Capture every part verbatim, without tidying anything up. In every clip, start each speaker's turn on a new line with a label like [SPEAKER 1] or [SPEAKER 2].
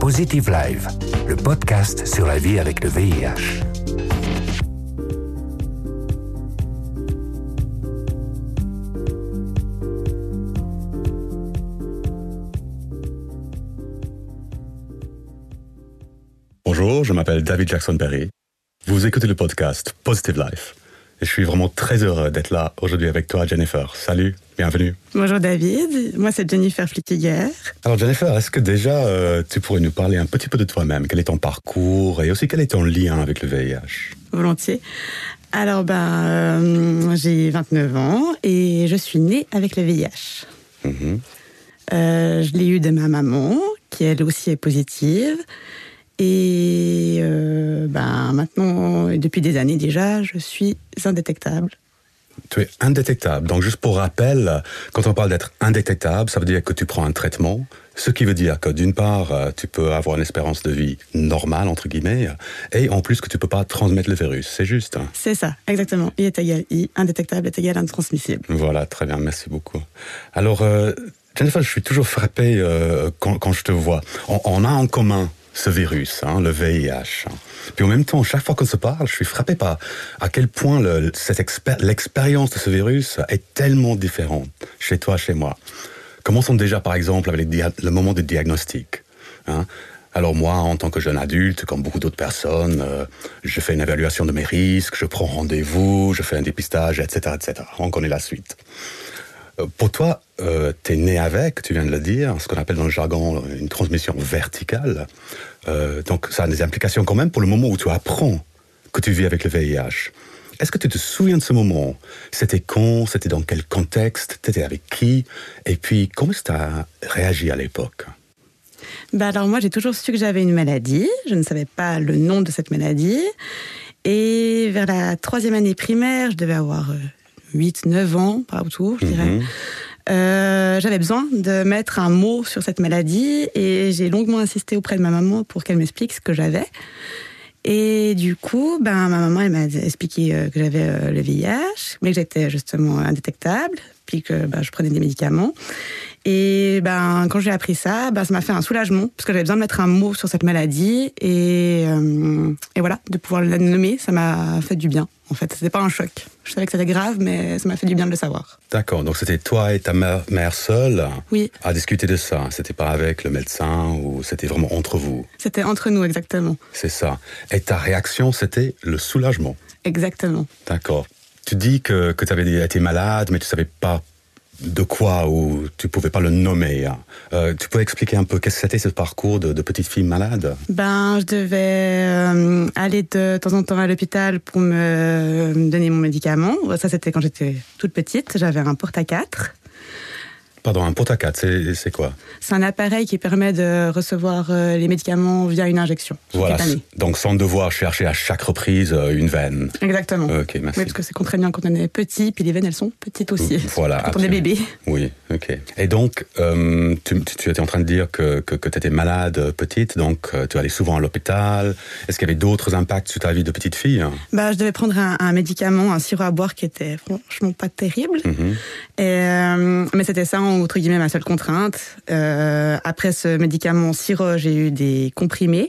[SPEAKER 1] Positive Life, le podcast sur la vie avec le V I H.
[SPEAKER 2] Bonjour, je m'appelle David Jackson-Perry. Vous écoutez le podcast Positive Life. Et je suis vraiment très heureux d'être là aujourd'hui avec toi, Jennifer. Salut, bienvenue.
[SPEAKER 3] Bonjour David, moi c'est Jennifer Flickiger.
[SPEAKER 2] Alors Jennifer, est-ce que déjà euh, tu pourrais nous parler un petit peu de toi-même? Quel est ton parcours et aussi quel est ton lien avec le V I H?
[SPEAKER 3] Volontiers. Alors ben, euh, j'ai vingt-neuf ans et je suis née avec le V I H. Mm-hmm. Euh, je l'ai eu de ma maman, qui elle aussi est positive. Et euh, ben, maintenant, depuis des années déjà, je suis indétectable.
[SPEAKER 2] Tu es indétectable. Donc, juste pour rappel, quand on parle d'être indétectable, ça veut dire que tu prends un traitement, ce qui veut dire que d'une part, tu peux avoir une espérance de vie normale, entre guillemets, et en plus que tu ne peux pas transmettre le virus. C'est juste?
[SPEAKER 3] C'est ça, exactement. I est égal I, indétectable est égal intransmissible.
[SPEAKER 2] Voilà, très bien, merci beaucoup. Alors, euh, Jennifer, je suis toujours frappé euh, quand, quand je te vois. On, on a en commun ce virus, hein, le V I H. Puis en même temps, chaque fois qu'on se parle, je suis frappé par à quel point le, cette expé- l'expérience de ce virus est tellement différente chez toi, chez moi. Commençons déjà, par exemple, avec dia- le moment du diagnostic. Hein. Alors moi, en tant que jeune adulte, comme beaucoup d'autres personnes, euh, je fais une évaluation de mes risques, je prends rendez-vous, je fais un dépistage, et cetera, et cetera. On connaît la suite. Pour toi, euh, t'es né avec, tu viens de le dire, ce qu'on appelle dans le jargon une transmission verticale. Euh, donc ça a des implications quand même pour le moment où tu apprends que tu vis avec le V I H. Est-ce que tu te souviens de ce moment? C'était quand? C'était dans quel contexte? T'étais avec qui? Et puis, comment est-ce que tu as réagi à l'époque?
[SPEAKER 3] Bah alors moi, j'ai toujours su que j'avais une maladie. Je ne savais pas le nom de cette maladie. Et vers la troisième année primaire, je devais avoir Euh, huit neuf ans, par autour, je dirais. Mmh. Euh, j'avais besoin de mettre un mot sur cette maladie et j'ai longuement insisté auprès de ma maman pour qu'elle m'explique ce que j'avais. Et du coup, ben, ma maman elle m'a expliqué que j'avais le V I H, mais que j'étais justement indétectable, puis que ben, je prenais des médicaments. Et ben, quand j'ai appris ça, ben, ça m'a fait un soulagement, parce que j'avais besoin de mettre un mot sur cette maladie. Et, euh, et voilà, de pouvoir la nommer, ça m'a fait du bien. En fait, c'était pas un choc. Je savais que c'était grave, mais ça m'a fait du bien de le savoir.
[SPEAKER 2] D'accord, donc c'était toi et ta mère, mère seule
[SPEAKER 3] oui.
[SPEAKER 2] à discuter de ça. C'était pas avec le médecin ou c'était vraiment entre vous?
[SPEAKER 3] C'était entre nous, exactement.
[SPEAKER 2] C'est ça. Et ta réaction, c'était le soulagement?
[SPEAKER 3] Exactement.
[SPEAKER 2] D'accord. Tu dis que, que tu avais été malade, mais tu savais pas de quoi ou tu pouvais pas le nommer. Euh, tu peux expliquer un peu qu'est-ce que c'était ce parcours de, de petite fille malade?
[SPEAKER 3] Ben, je devais euh, aller de temps en temps à l'hôpital pour me, me donner mon médicament. Ça, c'était quand j'étais toute petite. J'avais un porte à quatre.
[SPEAKER 2] Pardon, un porte à quatre, c'est, c'est quoi? C'est
[SPEAKER 3] un appareil qui permet de recevoir euh, les médicaments via une injection.
[SPEAKER 2] Voilà, donc sans devoir chercher à chaque reprise euh, une veine.
[SPEAKER 3] Exactement.
[SPEAKER 2] Ok, merci.
[SPEAKER 3] Oui, parce que c'est contraignant quand on est petit, puis les veines, elles sont petites aussi.
[SPEAKER 2] Voilà,
[SPEAKER 3] quand absolument. On est bébé.
[SPEAKER 2] Oui, ok. Et donc, euh, tu, tu étais en train de dire que, que, que tu étais malade petite, donc euh, tu allais souvent à l'hôpital. Est-ce qu'il y avait d'autres impacts sur ta vie de petite fille?
[SPEAKER 3] Bah, je devais prendre un, un médicament, un sirop à boire qui était franchement pas terrible. Mm-hmm. Et, euh, mais c'était ça, entre guillemets, ma seule contrainte. Euh, après ce médicament sirop, j'ai eu des comprimés.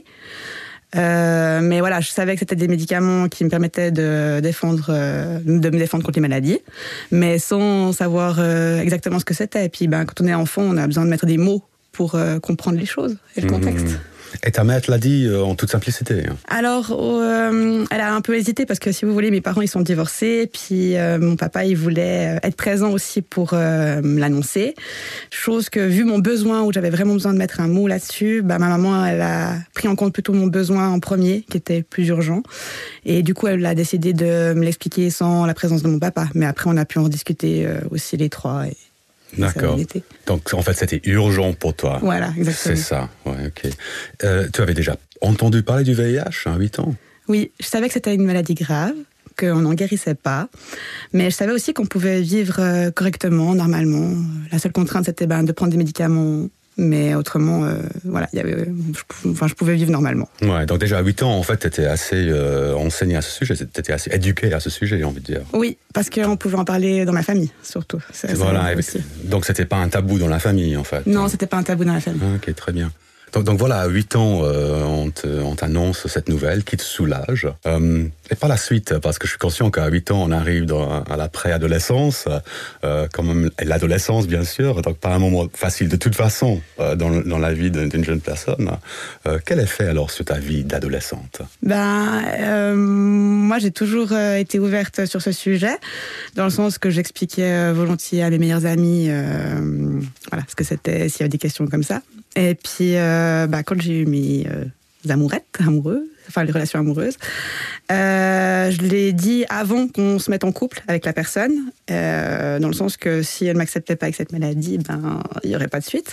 [SPEAKER 3] Euh, mais voilà, je savais que c'était des médicaments qui me permettaient de défendre, euh, de me défendre contre les maladies, mais sans savoir euh, exactement ce que c'était. Et puis, ben, quand on est enfant, on a besoin de mettre des mots pour euh, comprendre les choses et le contexte. Mmh.
[SPEAKER 2] Et ta mère te l'a dit euh, en toute simplicité?
[SPEAKER 3] Alors, euh, elle a un peu hésité parce que, si vous voulez, mes parents, ils sont divorcés. Puis, euh, mon papa, il voulait être présent aussi pour euh, me l'annoncer. Chose que, vu mon besoin, où j'avais vraiment besoin de mettre un mot là-dessus, bah, ma maman, elle a pris en compte plutôt mon besoin en premier, qui était plus urgent. Et du coup, elle a décidé de me l'expliquer sans la présence de mon papa. Mais après, on a pu en discuter euh, aussi les trois. Et
[SPEAKER 2] d'accord. Donc, en fait, c'était urgent pour toi.
[SPEAKER 3] Voilà, exactement.
[SPEAKER 2] C'est ça, ouais, ok. Euh, tu avais déjà entendu parler du V I H à huit ans?
[SPEAKER 3] Oui, je savais que c'était une maladie grave, qu'on n'en guérissait pas. Mais je savais aussi qu'on pouvait vivre correctement, normalement. La seule contrainte, c'était ben, de prendre des médicaments. Mais autrement, euh, voilà, y avait, je, enfin, je pouvais vivre normalement.
[SPEAKER 2] Ouais, donc déjà à huit ans, en fait, tu étais assez euh, enseigné à ce sujet, tu étais assez éduqué à ce sujet, j'ai envie de dire.
[SPEAKER 3] Oui, parce qu'on pouvait en parler dans ma famille, surtout.
[SPEAKER 2] C'est, voilà, aussi. Donc c'était pas un tabou dans la famille, en fait.
[SPEAKER 3] Non, c'était pas un tabou dans la famille.
[SPEAKER 2] Ah, ok, très bien. Donc, donc voilà, à huit ans, euh, on, te, on t'annonce cette nouvelle qui te soulage. Euh, et par la suite, parce que je suis conscient qu'à huit ans, on arrive dans, à la préadolescence, euh, quand même, et l'adolescence, bien sûr, donc pas un moment facile de toute façon euh, dans, dans la vie d'une jeune personne. Euh, quel effet alors sur ta vie d'adolescente?
[SPEAKER 3] Ben, euh, moi, j'ai toujours euh, été ouverte sur ce sujet, dans le sens que j'expliquais euh, volontiers à mes meilleurs amis euh, voilà, ce que c'était, s'il y avait des questions comme ça. Et puis, euh, bah, quand j'ai eu mes euh, amourettes, amoureux, enfin les relations amoureuses, euh, je l'ai dit avant qu'on se mette en couple avec la personne, euh, dans le sens que si elle ne m'acceptait pas avec cette maladie, ben, il n'y aurait pas de suite.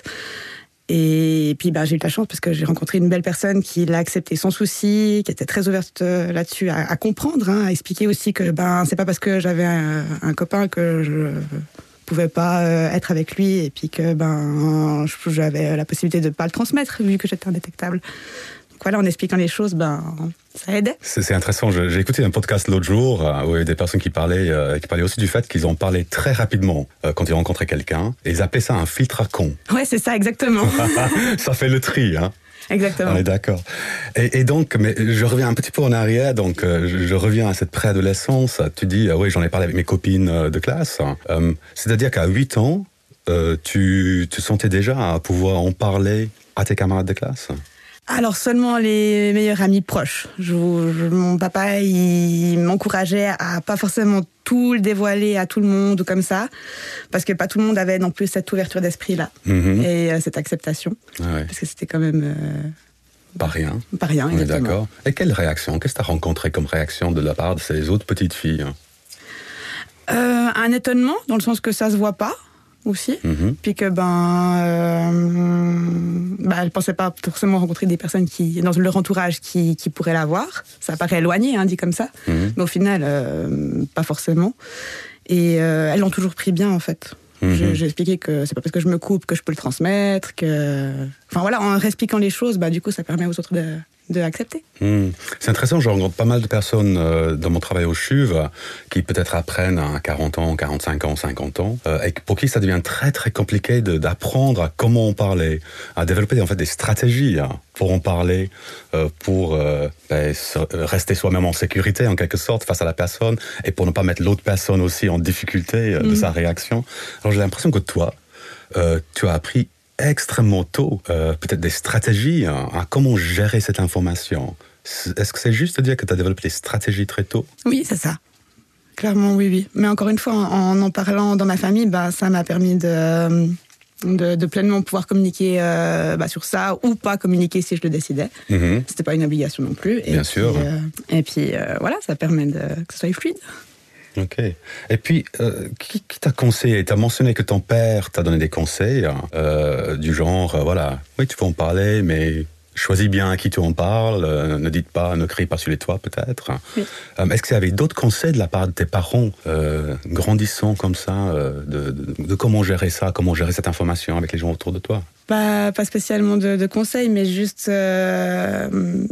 [SPEAKER 3] Et puis ben, j'ai eu de la chance parce que j'ai rencontré une belle personne qui l'a accepté sans souci, qui était très ouverte là-dessus à, à comprendre, hein, à expliquer aussi que ben, c'est pas parce que j'avais un, un copain que je pouvais pas euh, être avec lui et puis que ben j'avais la possibilité de pas le transmettre vu que j'étais indétectable. Donc voilà, en expliquant les choses, ben ça aidait.
[SPEAKER 2] C'est, c'est intéressant. Je, j'ai écouté un podcast l'autre jour euh, où il y avait des personnes qui parlaient, euh, qui parlaient aussi du fait qu'ils ont parlé très rapidement euh, quand ils rencontraient quelqu'un et ils appelaient ça un filtre à con.
[SPEAKER 3] Ouais, c'est ça exactement.
[SPEAKER 2] Ça fait le tri, hein.
[SPEAKER 3] Exactement.
[SPEAKER 2] On est d'accord. Et, et donc, mais je reviens un petit peu en arrière, donc euh, je, je reviens à cette préadolescence. Tu dis, euh, oui, j'en ai parlé avec mes copines euh, de classe. Euh, c'est-à-dire qu'à huit ans, euh, tu te sentais déjà à pouvoir en parler à tes camarades de classe?
[SPEAKER 3] Alors seulement les meilleurs amis proches. Je, je, mon papa, il m'encourageait à pas forcément tout le dévoiler à tout le monde ou comme ça, parce que pas tout le monde avait non plus cette ouverture d'esprit-là mm-hmm. et euh, cette acceptation, ah ouais. Parce que c'était quand même euh,
[SPEAKER 2] pas rien.
[SPEAKER 3] Pas rien,
[SPEAKER 2] on
[SPEAKER 3] exactement.
[SPEAKER 2] Est d'accord. Et quelle réaction? Qu'est-ce que tu as rencontré comme réaction de la part de ces autres petites filles?
[SPEAKER 3] euh, Un étonnement, dans le sens que ça se voit pas. Aussi, mm-hmm. Puis que ben, euh, ben, elle pensait pas forcément rencontrer des personnes qui, dans leur entourage qui, qui pourraient l'avoir. Ça paraît éloigné, hein, dit comme ça, mm-hmm. Mais au final, euh, pas forcément. Et euh, elles l'ont toujours pris bien, en fait. Mm-hmm. Je, j'ai expliqué que c'est pas parce que je me coupe que je peux le transmettre, que, enfin voilà, en expliquant les choses, bah du coup, ça permet aux autres de de accepter.
[SPEAKER 2] Mmh. C'est intéressant, je rencontre pas mal de personnes euh, dans mon travail au C H U V qui peut-être apprennent à quarante ans, quarante-cinq ans, cinquante ans, euh, et pour qui ça devient très très compliqué de, d'apprendre à comment en parler, à développer en fait des stratégies hein, pour en parler, euh, pour euh, ben, rester soi-même en sécurité en quelque sorte face à la personne et pour ne pas mettre l'autre personne aussi en difficulté euh, mmh. de sa réaction. Alors j'ai l'impression que toi, euh, tu as appris extrêmement tôt, euh, peut-être des stratégies hein, à comment gérer cette information. Est-ce que c'est juste de dire que tu as développé des stratégies très tôt?
[SPEAKER 3] Oui, c'est ça. Clairement, oui, oui. Mais encore une fois, en en parlant dans ma famille, bah, ça m'a permis de, de, de pleinement pouvoir communiquer euh, bah, sur ça ou pas communiquer si je le décidais. Mm-hmm. C'était pas une obligation non plus. Et
[SPEAKER 2] Bien
[SPEAKER 3] puis,
[SPEAKER 2] sûr.
[SPEAKER 3] Euh, et puis, euh, voilà, ça permet de, que ce soit fluide.
[SPEAKER 2] Ok. Et puis, euh, qui, qui t'a conseillé? T'as mentionné que ton père t'a donné des conseils, euh, du genre, euh, voilà, oui, tu peux en parler, mais choisis bien à qui tu en parles, euh, ne dites pas, ne crie pas sur les toits, peut-être. Oui. Euh, est-ce qu'il y avait d'autres conseils de la part de tes parents, euh, grandissant comme ça, euh, de, de, de comment gérer ça, comment gérer cette information avec les gens autour de toi?
[SPEAKER 3] Pas, pas spécialement de, de conseils, mais juste... Euh...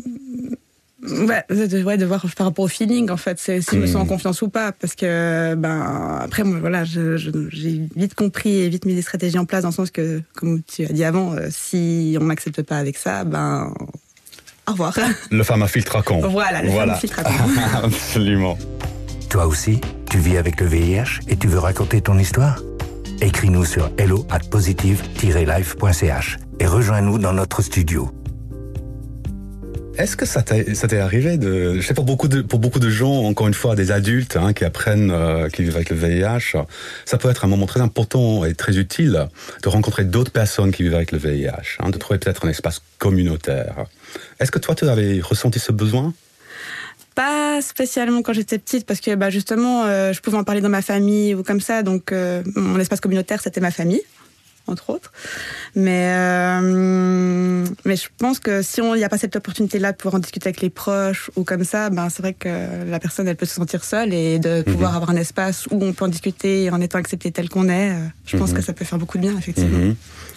[SPEAKER 3] Ouais, de, ouais, de voir par rapport au feeling, en fait, c'est, si mmh. je me sens en confiance ou pas, parce que, ben, après, moi, voilà, je, je, j'ai vite compris et vite mis des stratégies en place, dans le sens que, comme tu as dit avant, euh, si on m'accepte pas avec ça, ben, au revoir.
[SPEAKER 2] Le fameux filtre à con.
[SPEAKER 3] Voilà, le
[SPEAKER 2] voilà.
[SPEAKER 3] fameux filtre à con.
[SPEAKER 2] Absolument.
[SPEAKER 1] Toi aussi, tu vis avec le V I H et tu veux raconter ton histoire? Écris-nous sur hello at positive tiret life point c h et rejoins-nous dans notre studio.
[SPEAKER 2] Est-ce que ça t'est, ça t'est arrivé de, je sais pour beaucoup de, pour beaucoup de gens, encore une fois, des adultes hein, qui apprennent, euh, qui vivent avec le V I H, ça peut être un moment très important et très utile de rencontrer d'autres personnes qui vivent avec le V I H, hein, de trouver peut-être un espace communautaire. Est-ce que toi, tu avais ressenti ce besoin?
[SPEAKER 3] Pas spécialement quand j'étais petite, parce que bah, justement, euh, je pouvais en parler dans ma famille ou comme ça, donc euh, mon espace communautaire, c'était ma famille, entre autres. Mais, euh, mais je pense que si il n'y a pas cette opportunité-là de pouvoir en discuter avec les proches ou comme ça, ben c'est vrai que la personne, elle peut se sentir seule, et de pouvoir mm-hmm. avoir un espace où on peut en discuter en étant accepté tel qu'on est, je pense mm-hmm. que ça peut faire beaucoup de bien, effectivement. Mm-hmm.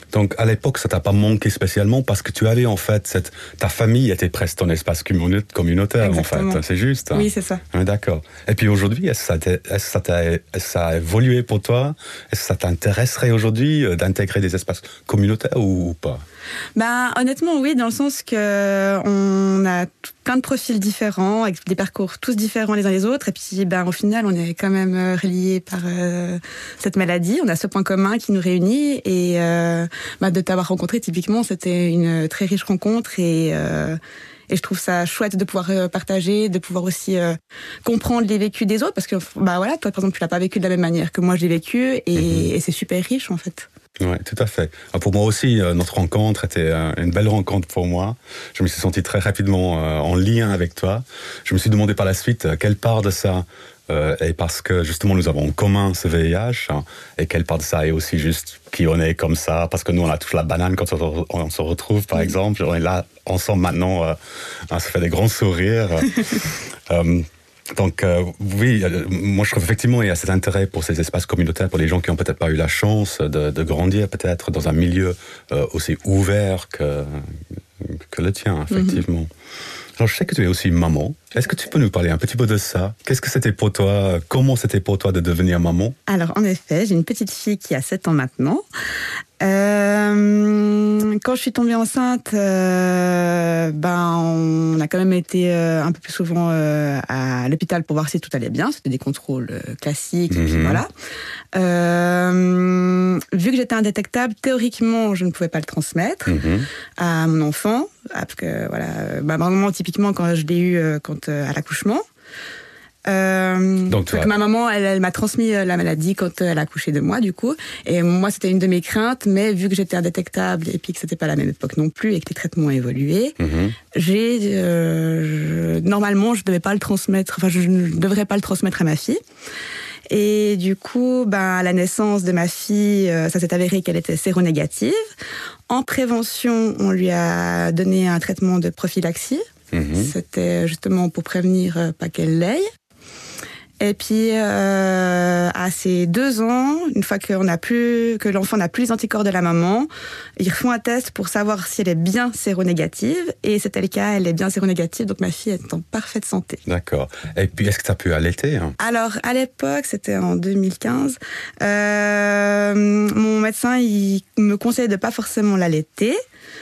[SPEAKER 2] Donc à l'époque, ça t'a pas manqué spécialement parce que tu avais en fait cette ta famille était presque ton espace communautaire. Exactement. En fait, c'est juste.
[SPEAKER 3] Oui, c'est ça.
[SPEAKER 2] Ah, d'accord. Et puis aujourd'hui, est-ce que ça, est-ce que ça, t'a, est-ce que ça a évolué pour toi? Est-ce que ça t'intéresserait aujourd'hui d'intégrer des espaces communautaires ou, ou pas?
[SPEAKER 3] Ben, honnêtement, oui, dans le sens que on a plein de profils différents, avec des parcours tous différents les uns les autres, et puis ben, au final, on est quand même reliés par euh, cette maladie. On a ce point commun qui nous réunit, et euh, ben, de t'avoir rencontré, typiquement, c'était une très riche rencontre, et euh, Et je trouve ça chouette de pouvoir partager, de pouvoir aussi euh, comprendre les vécus des autres, parce que bah voilà, toi par exemple, tu l'as pas vécu de la même manière que moi j'ai vécu, et, mm-hmm. et c'est super riche en fait.
[SPEAKER 2] Oui, tout à fait. Pour moi aussi, notre rencontre était une belle rencontre pour moi. Je me suis senti très rapidement en lien avec toi. Je me suis demandé par la suite quelle part de ça euh, est parce que justement nous avons en commun ce V I H, hein, et quelle part de ça est aussi juste qui on est comme ça, parce que nous on a tous la banane quand on, on se retrouve par exemple. On est là ensemble maintenant, euh, ça fait des grands sourires. euh, Donc euh, oui, moi je trouve effectivement il y a cet intérêt pour ces espaces communautaires pour les gens qui n'ont peut-être pas eu la chance de, de grandir peut-être dans un milieu euh, aussi ouvert que, que le tien, effectivement. Mm-hmm. Alors je sais que tu es aussi maman. Est-ce que tu peux nous parler un petit peu de ça? Qu'est-ce que c'était pour toi? Comment c'était pour toi de devenir maman?
[SPEAKER 3] Alors en effet, j'ai une petite fille qui a sept ans maintenant. Euh, quand je suis tombée enceinte, euh, ben on a quand même été euh, un peu plus souvent euh, à l'hôpital pour voir si tout allait bien. C'était des contrôles euh, classiques, mm-hmm. et puis voilà. Euh, vu que j'étais indétectable, théoriquement, je ne pouvais pas le transmettre mm-hmm. à mon enfant, parce que voilà, ben, normalement, typiquement quand je l'ai eu euh, quand euh, à l'accouchement. Euh, donc, donc ma maman, elle, elle m'a transmis la maladie quand elle a accouché de moi, du coup. Et moi, c'était une de mes craintes, mais vu que j'étais indétectable et puis que c'était pas la même époque non plus et que les traitements ont évolué, mm-hmm. j'ai euh, je, normalement, je devais pas le transmettre. Enfin, je ne devrais pas le transmettre à ma fille. Et du coup, ben, à la naissance de ma fille, euh, ça s'est avéré qu'elle était séronégative. En prévention, on lui a donné un traitement de prophylaxie. Mm-hmm. C'était justement pour prévenir euh, pas qu'elle l'aie. Et puis, euh, à ses deux ans, une fois qu'on a plus, que l'enfant n'a plus les anticorps de la maman, ils refont un test pour savoir si elle est bien séronégative. Et c'était le cas, elle est bien séronégative, donc ma fille est en parfaite santé.
[SPEAKER 2] D'accord. Et puis, est-ce que tu as pu allaiter, hein?
[SPEAKER 3] Alors, à l'époque, c'était en deux mille quinze, euh, mon médecin, il me conseillait de pas forcément l'allaiter.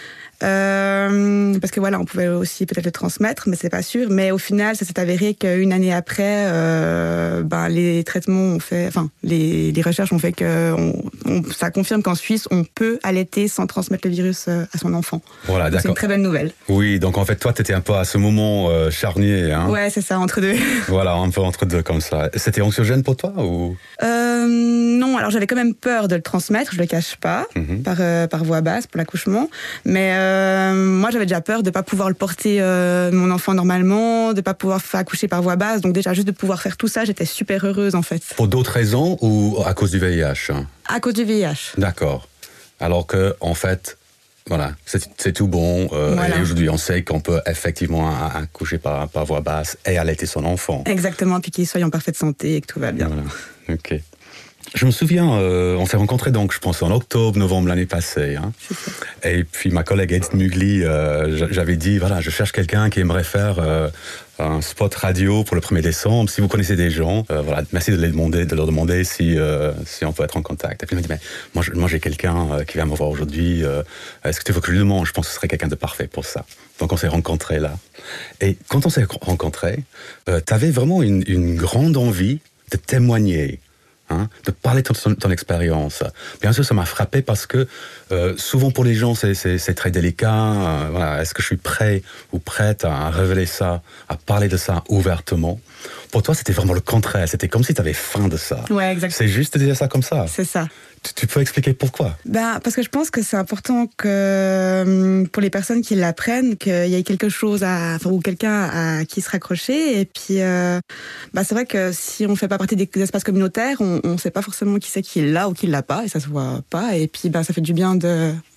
[SPEAKER 3] Euh, parce que voilà, on pouvait aussi peut-être le transmettre, mais c'est pas sûr. Mais au final, ça s'est avéré qu'une année après, euh, ben les traitements ont fait, enfin les, les recherches ont fait que on, on, ça confirme qu'en Suisse, on peut allaiter sans transmettre le virus à son enfant.
[SPEAKER 2] Voilà, d'accord.
[SPEAKER 3] C'est une très bonne nouvelle.
[SPEAKER 2] Oui, donc en fait, toi, t'étais un peu à ce moment euh, charnier, hein.
[SPEAKER 3] Ouais, c'est ça, entre deux.
[SPEAKER 2] Voilà, un peu entre deux comme ça. C'était anxiogène pour toi ou?
[SPEAKER 3] Euh, non, alors j'avais quand même peur de le transmettre, je le cache pas, mm-hmm. par euh, par voie basse pour l'accouchement, mais euh, Euh, moi, j'avais déjà peur de pas pouvoir le porter, euh, mon enfant, normalement, de pas pouvoir faire accoucher par voie basse. Donc déjà, juste de pouvoir faire tout ça, j'étais super heureuse, en fait.
[SPEAKER 2] Pour d'autres raisons ou à cause du V I H?
[SPEAKER 3] À cause du V I H.
[SPEAKER 2] D'accord. Alors que, en fait, voilà, c'est, c'est tout bon. Euh, voilà. Et aujourd'hui, on sait qu'on peut effectivement accoucher par, par voie basse et allaiter son enfant.
[SPEAKER 3] Exactement, puis qu'il soit en parfaite santé et que tout va bien.
[SPEAKER 2] Voilà. Ok. Je me souviens, euh, on s'est rencontrés donc, je pense, en octobre, novembre l'année passée. Hein. Et puis ma collègue Edith Mugli, euh, j'avais dit, voilà, je cherche quelqu'un qui aimerait faire euh, un spot radio pour le premier décembre. Si vous connaissez des gens, euh, voilà, merci de, les demander, de leur demander si, euh, si on peut être en contact. Et puis elle m'a dit, mais moi, moi j'ai quelqu'un euh, qui vient me voir aujourd'hui. Euh, est-ce que tu veux que je lui demande? Je pense que ce serait quelqu'un de parfait pour ça. Donc on s'est rencontrés là. Et quand on s'est rencontrés, euh, tu avais vraiment une, une grande envie de témoigner. Hein, de parler de ton, ton expérience. Bien sûr, ça m'a frappé parce que euh, souvent pour les gens, c'est, c'est, c'est très délicat. Euh, voilà, est-ce que je suis prêt ou prête à révéler ça, à parler de ça ouvertement? Pour toi, c'était vraiment le contraire. C'était comme si tu avais faim de ça.
[SPEAKER 3] Ouais, exactement.
[SPEAKER 2] C'est juste de dire ça comme ça.
[SPEAKER 3] C'est ça.
[SPEAKER 2] Tu, tu peux expliquer pourquoi? Ben,
[SPEAKER 3] parce que je pense que c'est important que pour les personnes qui l'apprennent, qu'il y ait quelque chose à, enfin, ou quelqu'un à qui se raccrocher. Et puis, euh, ben, c'est vrai que si on fait pas partie des espaces communautaires, on, on sait pas forcément qui c'est qui l'a ou qui l'a pas, et ça se voit pas. Et puis, ben, ça fait du bien de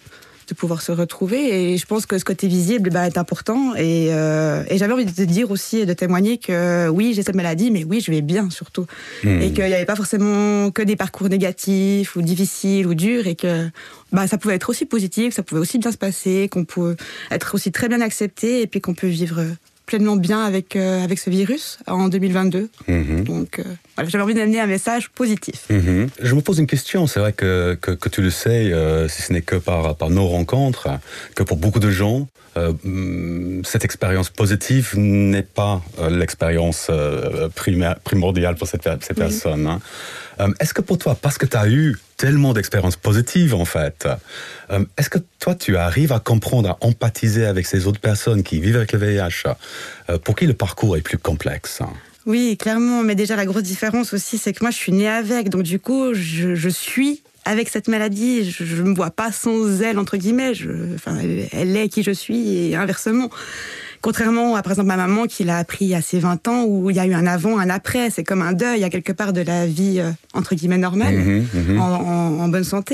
[SPEAKER 3] de pouvoir se retrouver. Et je pense que ce côté visible bah, est important. Et, euh, et j'avais envie de te dire aussi, de témoigner que oui, j'ai cette maladie, mais oui, je vais bien surtout. Mmh. Et qu'il n'y avait pas forcément que des parcours négatifs ou difficiles ou durs, et que bah, ça pouvait être aussi positif, ça pouvait aussi bien se passer, qu'on peut être aussi très bien accepté, et puis qu'on peut vivre pleinement bien avec, euh, avec ce virus en deux mille vingt-deux. Mmh. Donc, euh, voilà, j'avais envie d'amener un message positif.
[SPEAKER 2] Mmh. Je me pose une question. C'est vrai que, que, que tu le sais, euh, si ce n'est que par, par nos rencontres, que pour beaucoup de gens, euh, cette expérience positive n'est pas euh, l'expérience euh, primaire, primordiale pour cette, ces oui. personnes. Hein. Euh, est-ce que pour toi, parce que tu as eu tellement d'expériences positives, en fait, euh, est-ce que toi, tu arrives à comprendre, à empathiser avec ces autres personnes qui vivent avec le V I H, euh, pour qui le parcours est plus complexe?
[SPEAKER 3] Oui, clairement. Mais déjà, la grosse différence aussi, c'est que moi, je suis née avec. Donc, du coup, je, je suis avec cette maladie. Je ne me vois pas sans elle, entre guillemets. Je, enfin, elle est qui je suis, et inversement. Contrairement à, par exemple, ma maman qui l'a appris à ses vingt ans, où il y a eu un avant, un après. C'est comme un deuil, à quelque part, de la vie, euh, entre guillemets, normale, mmh, mmh. En, en, en bonne santé.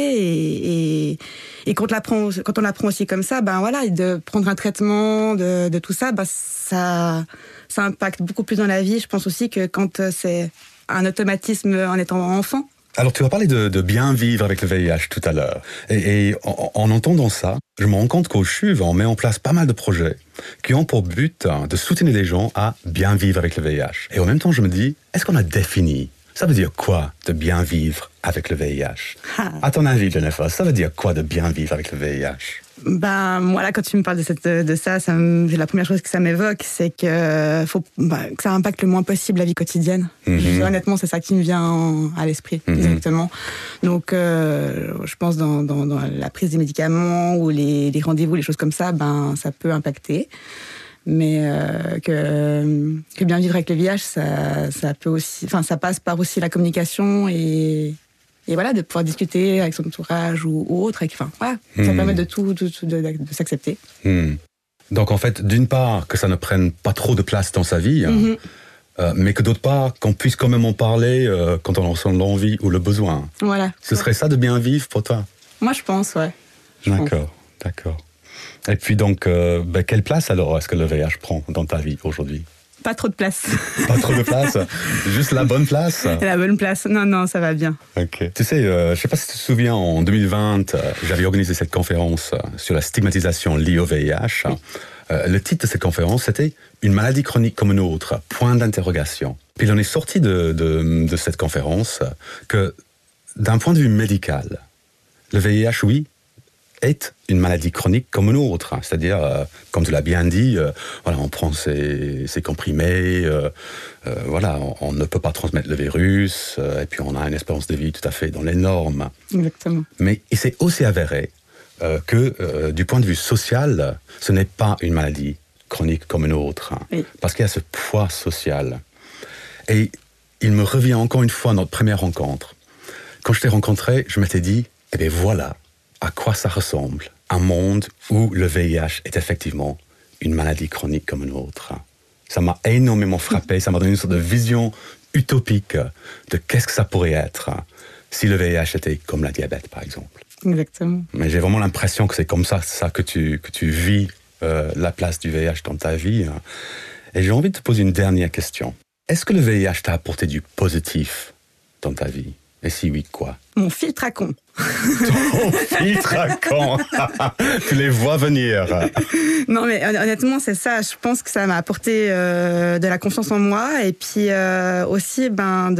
[SPEAKER 3] Et, et, et quand, on l'apprend, quand on l'apprend aussi comme ça, ben voilà, de prendre un traitement, de, de tout ça, ben ça, ça impacte beaucoup plus dans la vie. Je pense aussi que quand c'est un automatisme en étant enfant.
[SPEAKER 2] Alors, tu as parlé de, de bien vivre avec le V I H tout à l'heure. Et, et en, en entendant ça, je me rends compte qu'au C H U V, on met en place pas mal de projets qui ont pour but de soutenir les gens à bien vivre avec le V I H. Et en même temps, je me dis, est-ce qu'on a défini? Ça veut dire quoi, de bien vivre avec le V I H? Ah. À ton avis, Jennifer, ça veut dire quoi de bien vivre avec le V I H?
[SPEAKER 3] Ben, moi, là, quand tu me parles de, cette, de ça, ça me, la première chose que ça m'évoque, c'est que, faut, ben, que ça impacte le moins possible la vie quotidienne. Mm-hmm. Honnêtement, c'est ça qui me vient en, à l'esprit, mm-hmm. directement. Donc, euh, je pense dans, dans, dans la prise des médicaments ou les, les rendez-vous, les choses comme ça, ben, ça peut impacter. Mais euh, que, que bien vivre avec le V I H, ça, ça peut aussi, enfin, ça passe par aussi la communication et, et voilà, de pouvoir discuter avec son entourage ou, ou autre. Enfin, voilà, mmh. ça permet de tout, de, de, de, de s'accepter.
[SPEAKER 2] Mmh. Donc en fait, d'une part, que ça ne prenne pas trop de place dans sa vie, mmh. euh, mais que d'autre part, qu'on puisse quand même en parler euh, quand on en ressent l'envie ou le besoin.
[SPEAKER 3] Voilà.
[SPEAKER 2] Ce serait ça de bien vivre pour toi?
[SPEAKER 3] Moi, je pense, ouais. Je
[SPEAKER 2] d'accord, pense. d'accord. Et puis donc, euh, ben, quelle place alors est-ce que le V I H prend dans ta vie aujourd'hui?
[SPEAKER 3] Pas trop de place.
[SPEAKER 2] Pas trop de place? Juste la bonne place?
[SPEAKER 3] La bonne place. Non, non, ça va bien.
[SPEAKER 2] Ok. Tu sais, euh, je ne sais pas si tu te souviens, en deux mille vingt, euh, j'avais organisé cette conférence euh, sur la stigmatisation liée au V I H. Oui. Euh, le titre de cette conférence, c'était « Une maladie chronique comme une autre, point d'interrogation ». Puis il en est sorti de, de, de cette conférence que, d'un point de vue médical, le V I H, oui, est une maladie chronique comme une autre. C'est-à-dire, euh, comme tu l'as bien dit, euh, voilà, on prend ses, ses comprimés, euh, euh, voilà, on, on ne peut pas transmettre le virus, euh, et puis on a une espérance de vie tout à fait dans les normes.
[SPEAKER 3] Exactement.
[SPEAKER 2] Mais il s'est aussi avéré euh, que, euh, du point de vue social, ce n'est pas une maladie chronique comme une autre, hein, oui. parce qu'il y a ce poids social. Et il me revient encore une fois notre première rencontre. Quand je t'ai rencontré, je m'étais dit, eh bien voilà, à quoi ça ressemble, un monde où le V I H est effectivement une maladie chronique comme une autre. Ça m'a énormément frappé, ça m'a donné une sorte de vision utopique de qu'est-ce que ça pourrait être si le V I H était comme la diabète, par exemple.
[SPEAKER 3] Exactement.
[SPEAKER 2] Mais j'ai vraiment l'impression que c'est comme ça, ça que tu, que tu vis euh, la place du V I H dans ta vie. Et j'ai envie de te poser une dernière question. Est-ce que le V I H t'a apporté du positif dans ta vie? Et si oui, quoi?
[SPEAKER 3] Mon filtre à con.
[SPEAKER 2] Ton filtre à con. Tu les vois venir.
[SPEAKER 3] Non, mais honnêtement, c'est ça. Je pense que ça m'a apporté euh, de la confiance en moi et puis euh, aussi ben,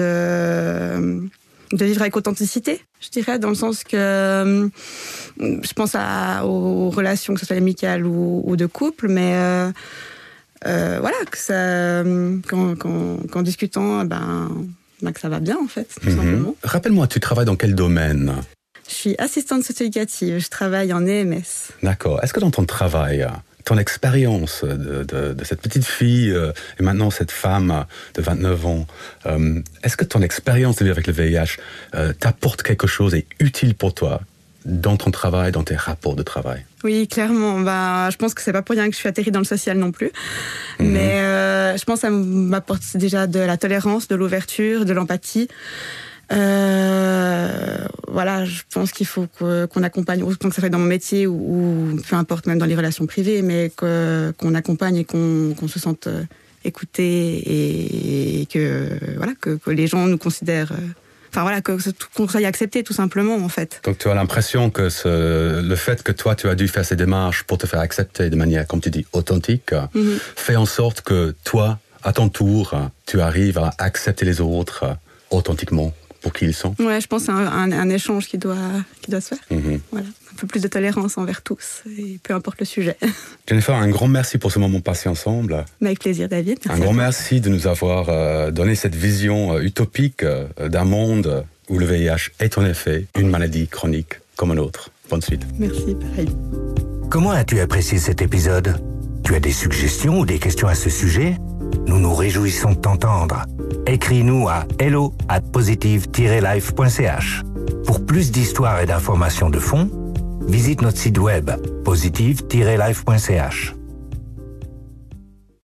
[SPEAKER 3] de, de vivre avec authenticité, je dirais, dans le sens que euh, je pense à, aux relations, que ce soit amicales ou, ou de couple, mais euh, euh, voilà, que ça, qu'en, qu'en, qu'en discutant, ben... que ça va bien, en fait, tout mm-hmm. simplement.
[SPEAKER 2] Rappelle-moi, tu travailles dans quel domaine?
[SPEAKER 3] Je suis assistante socio-éducative, je travaille en E M S.
[SPEAKER 2] D'accord. Est-ce que dans ton travail, ton expérience de, de, de cette petite fille euh, et maintenant cette femme de vingt-neuf ans, euh, est-ce que ton expérience de vivre avec le V I H euh, t'apporte quelque chose et utile pour toi dans ton travail, dans tes rapports de travail?
[SPEAKER 3] Oui, clairement. Bah, je pense que c'est pas pour rien que je suis atterrie dans le social non plus. Mmh. Mais euh, je pense que ça m'apporte déjà de la tolérance, de l'ouverture, de l'empathie. Euh, voilà, je pense qu'il faut que, qu'on accompagne, autant que ça soit dans mon métier ou, ou peu importe, même dans les relations privées, mais que, qu'on accompagne et qu'on, qu'on se sente écouté et, et que, voilà, que, que les gens nous considèrent... Enfin voilà, que, qu'on soit accepté tout simplement en fait.
[SPEAKER 2] Donc tu as l'impression que ce, le fait que toi tu as dû faire ces démarches pour te faire accepter de manière, comme tu dis, authentique, mm-hmm. fait en sorte que toi, à ton tour, tu arrives à accepter les autres authentiquement pour qui ils sont.
[SPEAKER 3] Ouais, je pense que c'est un, un, un échange qui doit, qui doit se faire. Mm-hmm. Voilà, un peu plus de tolérance envers tous, et peu importe le sujet.
[SPEAKER 2] Jennifer, un grand merci pour ce moment passé ensemble.
[SPEAKER 3] Mais avec plaisir, David.
[SPEAKER 2] Merci un grand merci de nous avoir euh, donné cette vision euh, utopique euh, d'un monde où le V I H est en effet une maladie chronique comme un autre. Bonne suite.
[SPEAKER 3] Merci, pareil.
[SPEAKER 1] Comment as-tu apprécié cet épisode ? Tu as des suggestions ou des questions à ce sujet ? Nous nous réjouissons de t'entendre. Écris-nous à hello at positive tiret life point c h. Pour plus d'histoires et d'informations de fond, visite notre site web positive tiret life point c h.